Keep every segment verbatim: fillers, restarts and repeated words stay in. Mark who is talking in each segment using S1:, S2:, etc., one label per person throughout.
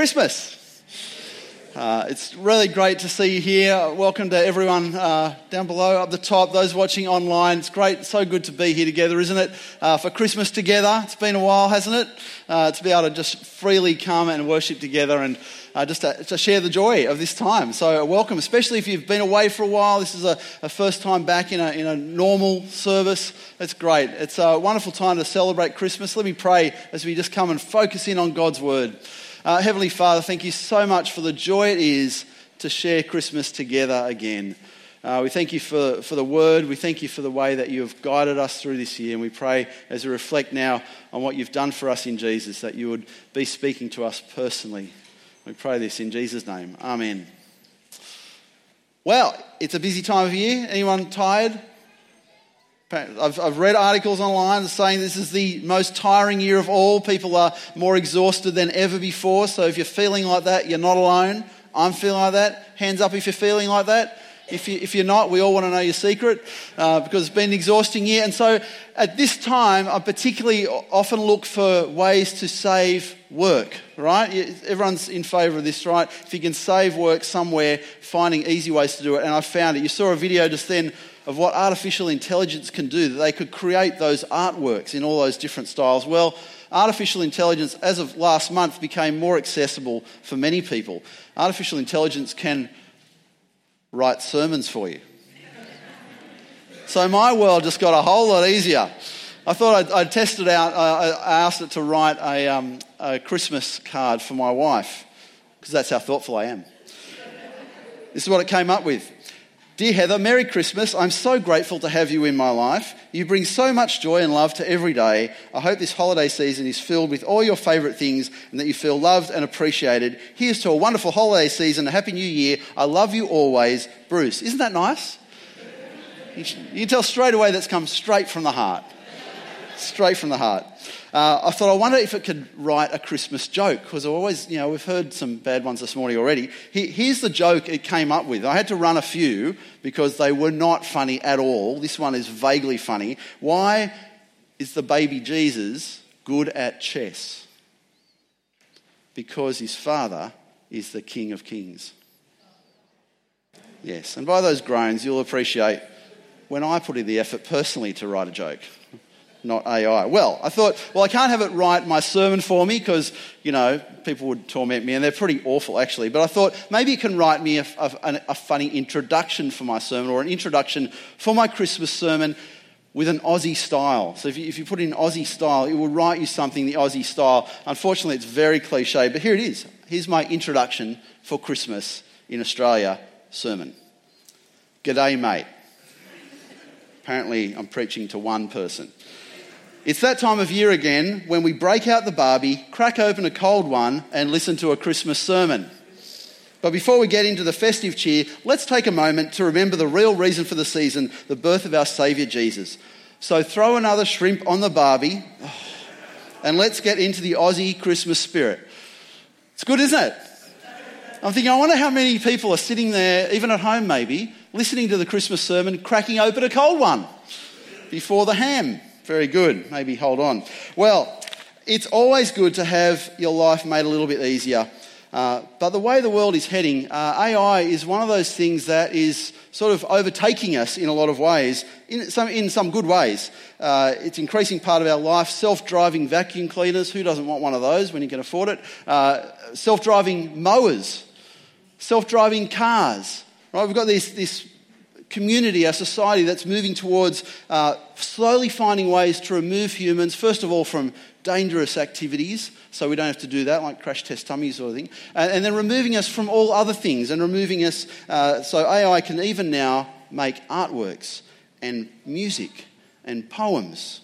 S1: Christmas. Uh, it's really great to see you here. Welcome to everyone uh, down below, up the top, those watching online. It's great, so good to be here together, isn't it? Uh, for Christmas together. It's been a while, hasn't it? Uh, to be able to just freely come and worship together and uh, just to, to share the joy of this time. So welcome, especially if you've been away for a while. This is a, a first time back in a, in a normal service. It's great. It's a wonderful time to celebrate Christmas. Let me pray as we just come and focus in on God's word. Uh, Heavenly Father, thank you so much for the joy it is to share Christmas together again. Uh, we thank you for, for the word. We thank you for the way that you have guided us through this year. And we pray as we reflect now on what you've done for us in Jesus, that you would be speaking to us personally. We pray this in Jesus' name. Amen. Well, it's a busy time of year. Anyone tired? I've, I've read articles online saying this is the most tiring year of all. People are more exhausted than ever before. So if you're feeling like that, you're not alone. I'm feeling like that. Hands up if you're feeling like that. If, you, if you're not, we all want to know your secret uh, because it's been an exhausting year. And so at this time, I particularly often look for ways to save work, right? Everyone's in favour of this, right? If you can save work somewhere, finding easy ways to do it. And I found it. You saw a video just then of what artificial intelligence can do, that they could create those artworks in all those different styles. Well, artificial intelligence, as of last month, became more accessible for many people. Artificial intelligence can write sermons for you. So my world just got a whole lot easier. I thought I'd, I'd test it out. I, I asked it to write a, um, a Christmas card for my wife, because that's how thoughtful I am. This is what it came up with. Dear Heather, Merry Christmas. I'm so grateful to have you in my life. You bring so much joy and love to every day. I hope this holiday season is filled with all your favourite things and that you feel loved and appreciated. Here's to a wonderful holiday season, a happy new year. I love you always, Bruce. Isn't that nice? You can tell straight away that's come straight from the heart. Straight from the heart. Uh, I thought, I wonder if it could write a Christmas joke, because I always, you know, we've heard some bad ones this morning already. He, here's the joke it came up with. I had to run a few because they were not funny at all. This one is vaguely funny. Why is the baby Jesus good at chess? Because his father is the King of Kings. Yes, and by those groans, you'll appreciate when I put in the effort personally to write a joke. Not A I. Well, I thought, well, I can't have it write my sermon for me because, you know, people would torment me, and they're pretty awful, actually. But I thought maybe it can write me a, a, a funny introduction for my sermon, or an introduction for my Christmas sermon with an Aussie style. So if you, if you put in Aussie style, it will write you something the Aussie style. Unfortunately, it's very cliche, but here it is. Here's my introduction for Christmas in Australia sermon. G'day, mate. Apparently, I'm preaching to one person. It's that time of year again when we break out the Barbie, crack open a cold one, and listen to a Christmas sermon. But before we get into the festive cheer, let's take a moment to remember the real reason for the season, the birth of our Saviour Jesus. So throw another shrimp on the Barbie, and let's get into the Aussie Christmas spirit. It's good, isn't it? I'm thinking, I wonder how many people are sitting there, even at home maybe, listening to the Christmas sermon, cracking open a cold one before the ham. Very good. Maybe hold on. Well, it's always good to have your life made a little bit easier. Uh, but the way the world is heading, uh, A I is one of those things that is sort of overtaking us in a lot of ways, in some, in some good ways. Uh, it's an increasing part of our life. Self-driving vacuum cleaners. Who doesn't want one of those when you can afford it? Uh, self-driving mowers. Self-driving cars. Right? We've got this... this community, our society that's moving towards uh, slowly finding ways to remove humans, first of all, from dangerous activities, so we don't have to do that, like crash test dummies sort of thing, and, and then removing us from all other things, and removing us, uh, so A I can even now make artworks and music and poems.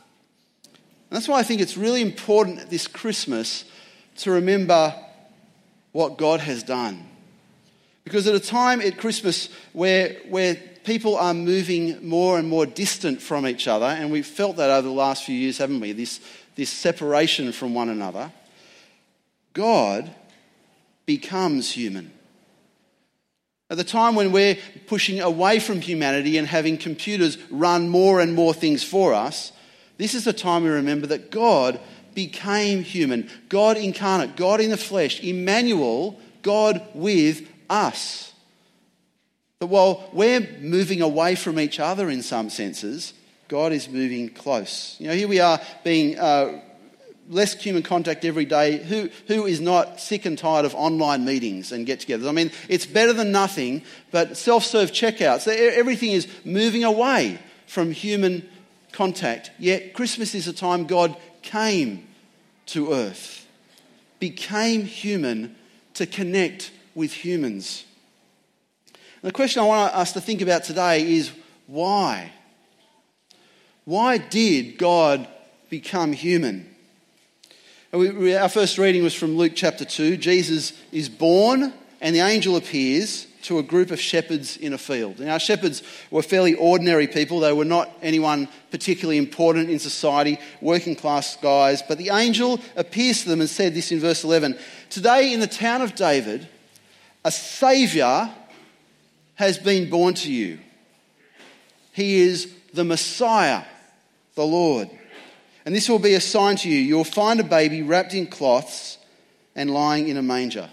S1: And that's why I think it's really important this Christmas to remember what God has done. Because at a time at Christmas where where people are moving more and more distant from each other, and we've felt that over the last few years, haven't we? This, this separation from one another, God becomes human. At the time when we're pushing away from humanity and having computers run more and more things for us, this is the time we remember that God became human. God incarnate, God in the flesh, Emmanuel, God with us. That while we're moving away from each other in some senses, God is moving close. You know, here we are being uh, less human contact every day. Who who is not sick and tired of online meetings and get-togethers? I mean, it's better than nothing, but self-serve checkouts, everything is moving away from human contact. Yet Christmas is a time God came to earth, became human to connect with humans. And the question I want us to think about today is why? Why did God become human? We, we, our first reading was from Luke chapter two. Jesus is born and the angel appears to a group of shepherds in a field. Now, shepherds were fairly ordinary people. They were not anyone particularly important in society, working class guys. But the angel appears to them and said this in verse eleven. Today in the town of David, a Saviour has been born to you. He is the Messiah, the Lord. And this will be a sign to you. You will find a baby wrapped in cloths and lying in a manger.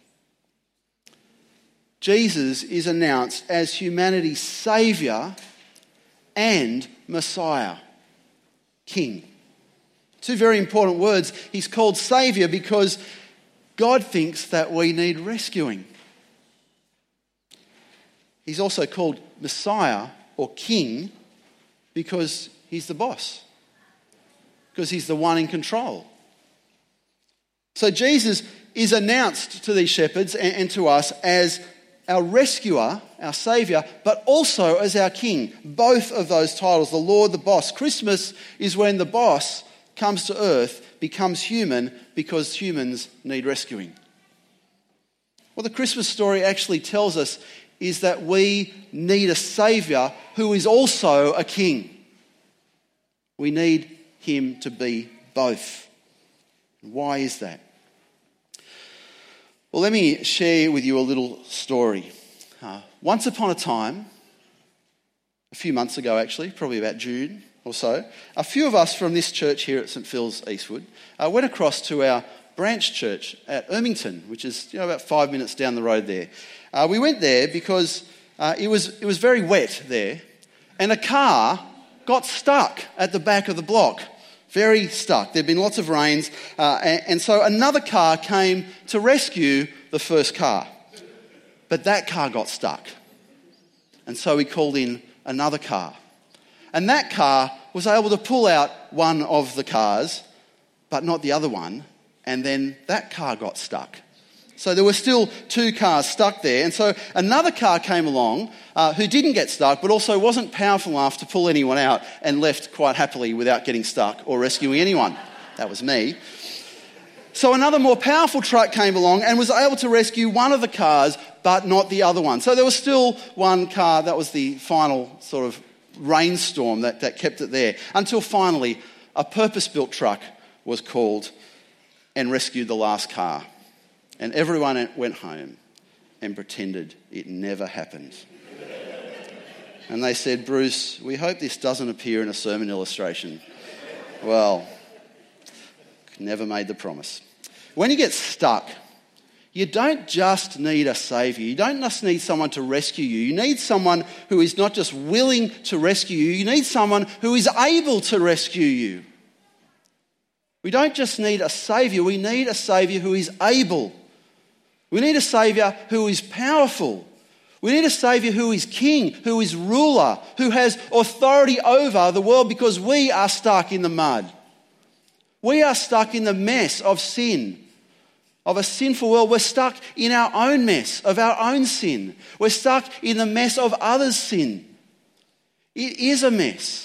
S1: Jesus is announced as humanity's Saviour and Messiah, King. Two very important words. He's called Saviour because God thinks that we need rescuing. He's also called Messiah or King because he's the boss, because he's the one in control. So Jesus is announced to these shepherds and, and to us as our rescuer, our saviour, but also as our king. Both of those titles, the Lord, the boss. Christmas is when the boss comes to earth, becomes human, because humans need rescuing. What the Christmas story actually tells us is that we need a saviour who is also a king. We need him to be both. Why is that? Well, let me share with you a little story. Uh, once upon a time, a few months ago actually, probably about June or so, a few of us from this church here at St Phil's Eastwood uh, went across to our branch church at Ermington, which is you know about five minutes down the road there. Uh, we went there because uh, it was it was very wet there, and a car got stuck at the back of the block. Very stuck. There'd been lots of rains, uh, and, and so another car came to rescue the first car. But that car got stuck. And so we called in another car. And that car was able to pull out one of the cars, but not the other one, and then that car got stuck. So there were still two cars stuck there. And so another car came along uh, who didn't get stuck, but also wasn't powerful enough to pull anyone out and left quite happily without getting stuck or rescuing anyone. That was me. So another more powerful truck came along and was able to rescue one of the cars, but not the other one. So there was still one car. That was the final sort of rainstorm that, that kept it there, until finally a purpose-built truck was called and rescued the last car. And everyone went home and pretended it never happened. And they said, Bruce, we hope this doesn't appear in a sermon illustration. Well, never made the promise. When you get stuck, you don't just need a saviour. You don't just need someone to rescue you. You need someone who is not just willing to rescue you. You need someone who is able to rescue you. We don't just need a saviour. We need a saviour who is able. We need a saviour who is powerful. We need a saviour who is king, who is ruler, who has authority over the world, because we are stuck in the mud. We are stuck in the mess of sin, of a sinful world. We're stuck in our own mess of our own sin. We're stuck in the mess of others' sin. It is a mess.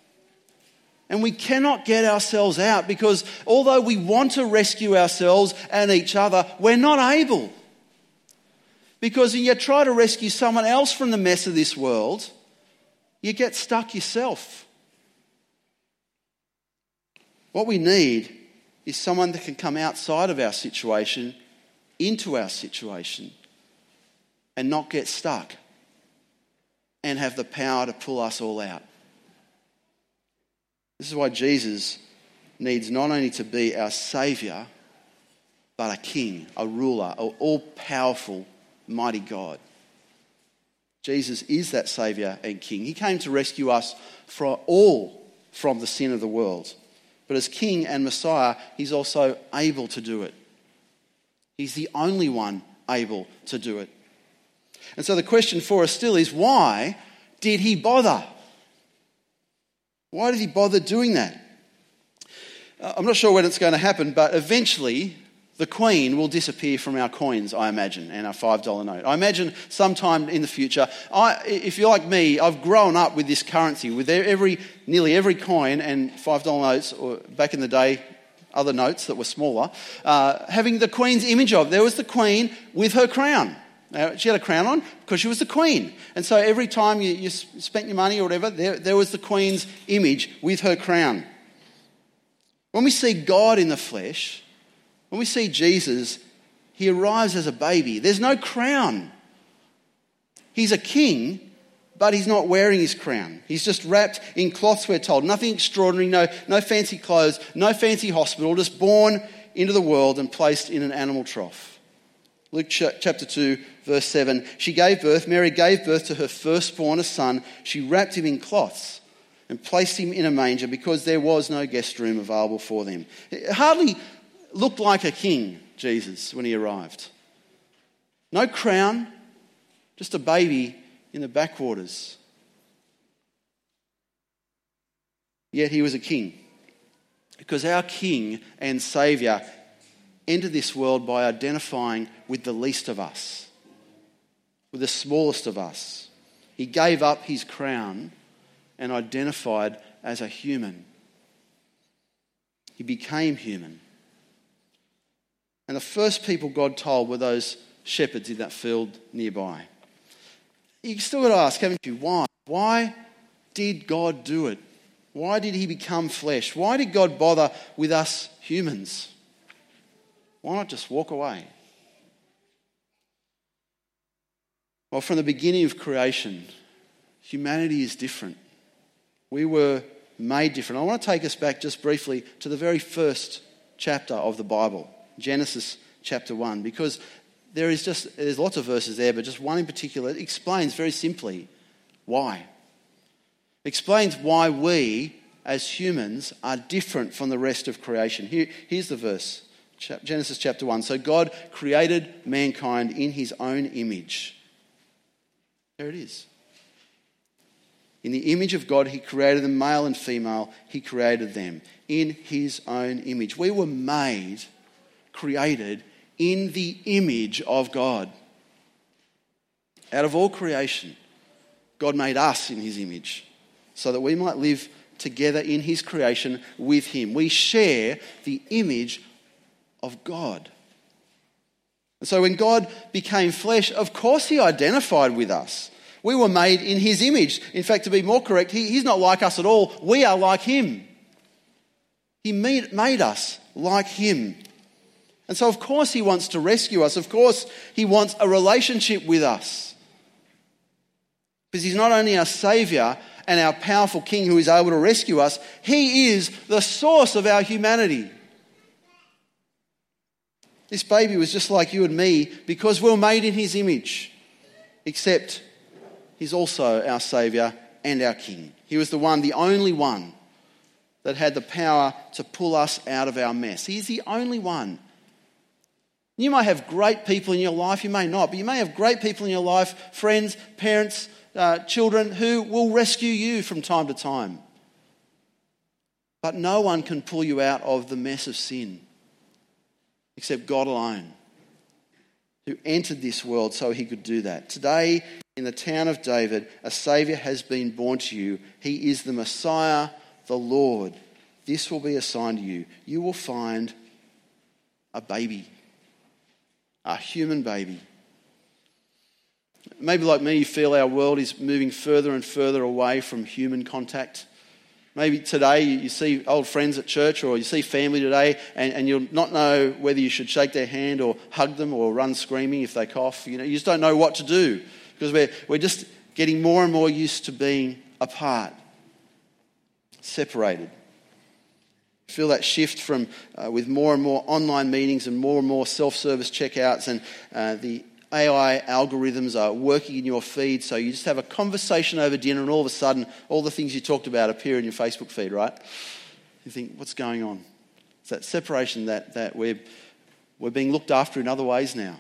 S1: And we cannot get ourselves out, because although we want to rescue ourselves and each other, we're not able. Because when you try to rescue someone else from the mess of this world, you get stuck yourself. What we need is someone that can come outside of our situation, into our situation, and not get stuck, and have the power to pull us all out. This is why Jesus needs not only to be our Saviour, but a king, a ruler, an all-powerful, mighty God. Jesus is that Saviour and King. He came to rescue us from all from the sin of the world. But as King and Messiah, he's also able to do it. He's the only one able to do it. And so the question for us still is, why did he bother? Why did he bother doing that? I'm not sure when it's going to happen, but eventually the Queen will disappear from our coins, I imagine, and our five dollar note. I imagine sometime in the future, I, if you're like me, I've grown up with this currency, with every, nearly every coin and five dollar notes, or back in the day, other notes that were smaller, uh, having the Queen's image of. There was the Queen with her crown. Now, she had a crown on because she was the Queen. And so every time you, you spent your money or whatever, there, there was the Queen's image with her crown. When we see God in the flesh, when we see Jesus, he arrives as a baby. There's no crown. He's a king, but he's not wearing his crown. He's just wrapped in cloths, we're told. Nothing extraordinary, no, no fancy clothes, no fancy hospital, just born into the world and placed in an animal trough. Luke chapter two, verse seven, she gave birth, Mary gave birth to her firstborn, a son. She wrapped him in cloths and placed him in a manger because there was no guest room available for them. It hardly looked like a king, Jesus, when he arrived. No crown, just a baby in the backwaters. Yet he was a king. Because our King and Saviour entered this world by identifying with the least of us, with the smallest of us. He gave up his crown and identified as a human. He became human. And the first people God told were those shepherds in that field nearby. You still got to ask, haven't you, why? Why did God do it? Why did he become flesh? Why did God bother with us humans? Why not just walk away? Well, from the beginning of creation, humanity is different. We were made different. I want to take us back just briefly to the very first chapter of the Bible, Genesis chapter one, because there is just, there's lots of verses there, but just one in particular explains very simply why. Explains why we, as humans, are different from the rest of creation. Here, here's the verse, Genesis chapter one. So God created mankind in his own image. There it is. In the image of God, he created them, male and female, he created them in his own image. We were made, created in the image of God. Out of all creation, God made us in his image so that we might live together in his creation with him. We share the image of God. And so when God became flesh, of course he identified with us. We were made in his image. In fact, to be more correct, he, he's not like us at all. We are like him. He made, made us like him. And so of course he wants to rescue us. Of course he wants a relationship with us. Because he's not only our Saviour and our powerful King who is able to rescue us, he is the source of our humanity. This baby was just like you and me because we were made in his image. Except he's also our Saviour and our King. He was the one, the only one that had the power to pull us out of our mess. He's the only one. You may have great people in your life, you may not, but you may have great people in your life, friends, parents, uh, children, who will rescue you from time to time. But no one can pull you out of the mess of sin except God alone, who entered this world so he could do that. Today, in the town of David, a Saviour has been born to you. He is the Messiah, the Lord. This will be a sign to you. You will find a baby, a human baby. Maybe like me, you feel our world is moving further and further away from human contact. Maybe today you see old friends at church or you see family today and, and you'll not know whether you should shake their hand or hug them or run screaming if they cough. You know, you just don't know what to do because we're, we're just getting more and more used to being apart, separated. Feel that shift from uh, with more and more online meetings and more and more self-service checkouts, and uh, the A I algorithms are working in your feed, so you just have a conversation over dinner and all of a sudden all the things you talked about appear in your Facebook feed, right? You think, what's going on? It's that separation that, that we're, we're being looked after in other ways now.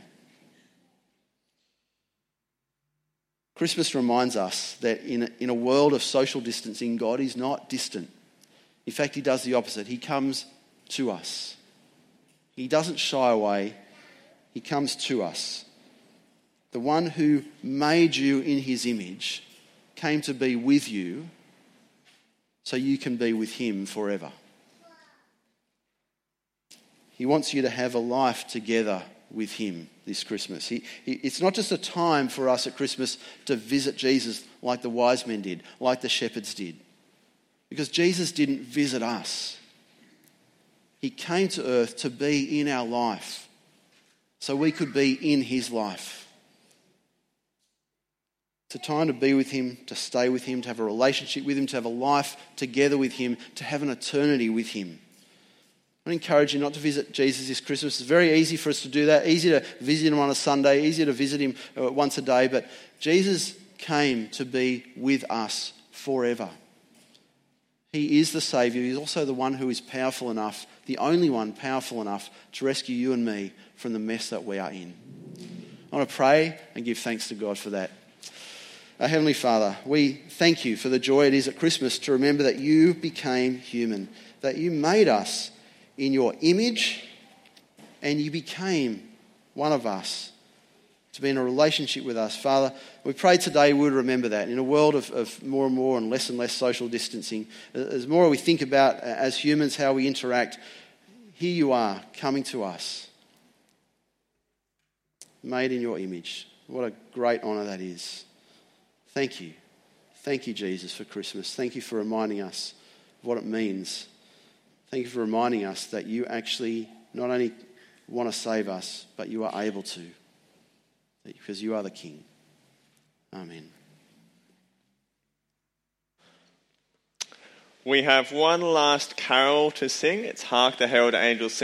S1: Christmas reminds us that in a, in a world of social distancing, God is not distant. In fact, he does the opposite. He comes to us. He doesn't shy away. He comes to us. The one who made you in his image came to be with you so you can be with him forever. He wants you to have a life together with him this Christmas. He, he, it's not just a time for us at Christmas to visit Jesus like the wise men did, like the shepherds did. Because Jesus didn't visit us. He came to earth to be in our life so we could be in his life. It's a time to be with him, to stay with him, to have a relationship with him, to have a life together with him, to have an eternity with him. I encourage you not to visit Jesus this Christmas. It's very easy for us to do that. Easy to visit him on a Sunday, easier to visit him once a day. But Jesus came to be with us forever. He is the Saviour. He's also the one who is powerful enough, the only one powerful enough to rescue you and me from the mess that we are in. I want to pray and give thanks to God for that. Our Heavenly Father, we thank you for the joy it is at Christmas to remember that you became human, that you made us in your image and you became one of us to be in a relationship with us. Father, we pray today we would remember that in a world of, of more and more and less and less social distancing. As more we think about as humans how we interact, here you are coming to us, made in your image. What a great honour that is. Thank you. Thank you, Jesus, for Christmas. Thank you for reminding us of what it means. Thank you for reminding us that you actually not only want to save us, but you are able to, because you are the King. Amen.
S2: We have one last carol to sing. It's Hark the Herald Angels Sing.